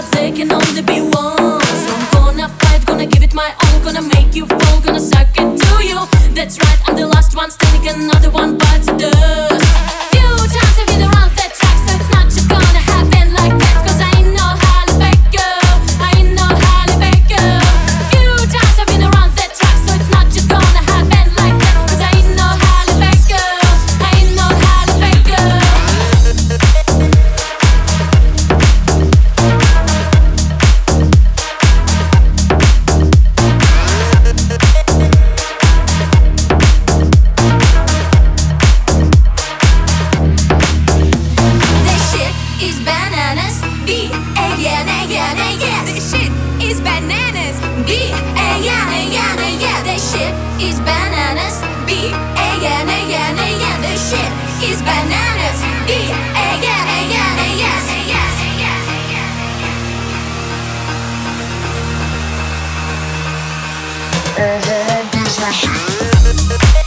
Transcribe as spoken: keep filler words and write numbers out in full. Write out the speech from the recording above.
there can only be one. So I'm gonna fight, gonna give it my all, gonna make you fall, gonna suck it to you. That's right, I'm the last one standing, another one bites the dust. Few times I've been around that track, so it's not just gonna happen like that. Cause I know how to fake you, I know how to fake you. Few times I've been around that track, so it's not just gonna happen like that. Cause I know how to fake you, I know how to fake you. Is bananas, B A N A N A S. This shit is bananas, B A N A N A S. This shit is bananas, B A N A N A S. This shit is bananas, B A N A N A S. Uh-huh, this my shit.